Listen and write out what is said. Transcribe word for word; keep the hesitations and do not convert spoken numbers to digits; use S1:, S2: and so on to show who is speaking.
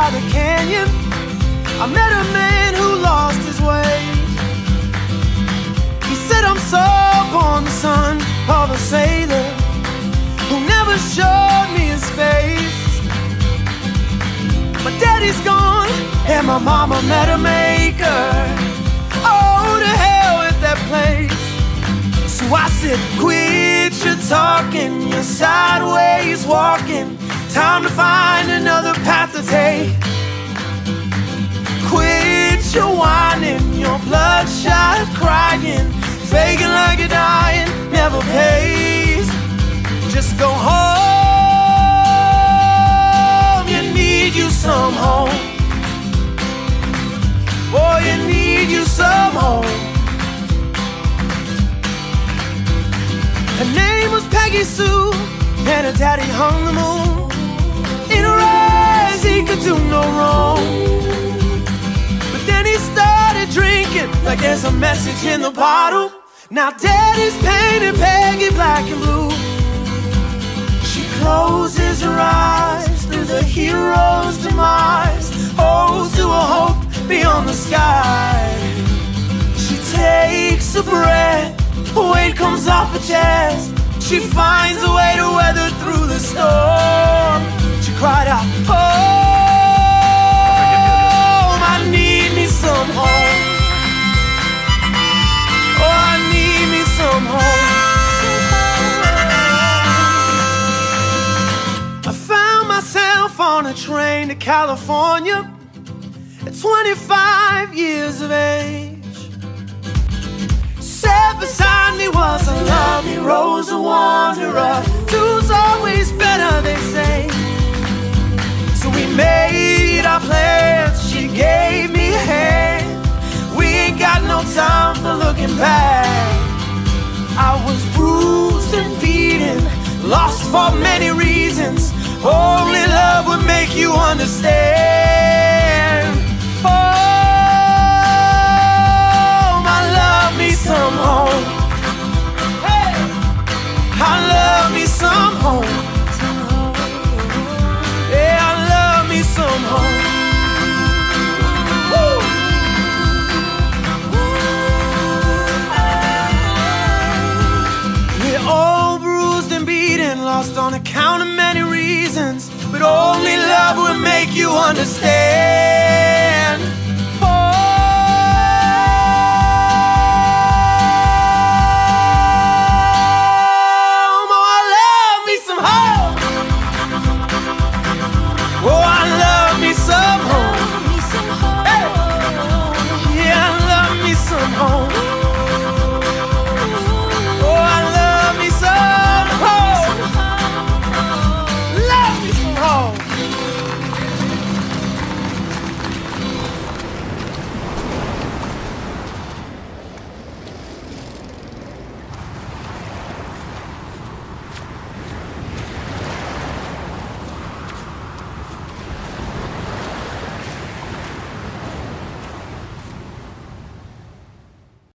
S1: by the canyon, I met a man who lost his way. He said, I'm so born the son of a sailor who never showed me his face. My daddy's gone and my mama met a maker. Oh, to hell with that place. So I said, quit your talking, you're sideways walking. Time to find another path to take. Quit your whining, your bloodshot crying. Faking like you're dying never pays. Just go home, you need you some home. Boy, you need you some home. Her name was Peggy Sue, and her daddy hung the moon. In her eyes he could do no wrong. But then he started drinking like there's a message in the bottle. Now daddy's painted Peggy black and blue. She closes her eyes through the hero's demise. Holds to a hope beyond the sky. She takes a breath, weight comes off her chest. She finds a way to weather through the storm. She cried out, home, I need me some home. Oh, I need me some home. I found myself on a train to California at twenty-five years of age. Sat beside me was a lovely Rose, a wanderer. Two's always better, they say. So we made our plans, she gave me a hand. We ain't got no time for looking back. I was bruised and beaten, lost for many reasons. Only love would make you understand. Oh, I love me some home. Hey, I love me some home. Yeah, I love me some home. Woo. We're all bruised and beaten, lost on account of many reasons, but only love will make you understand.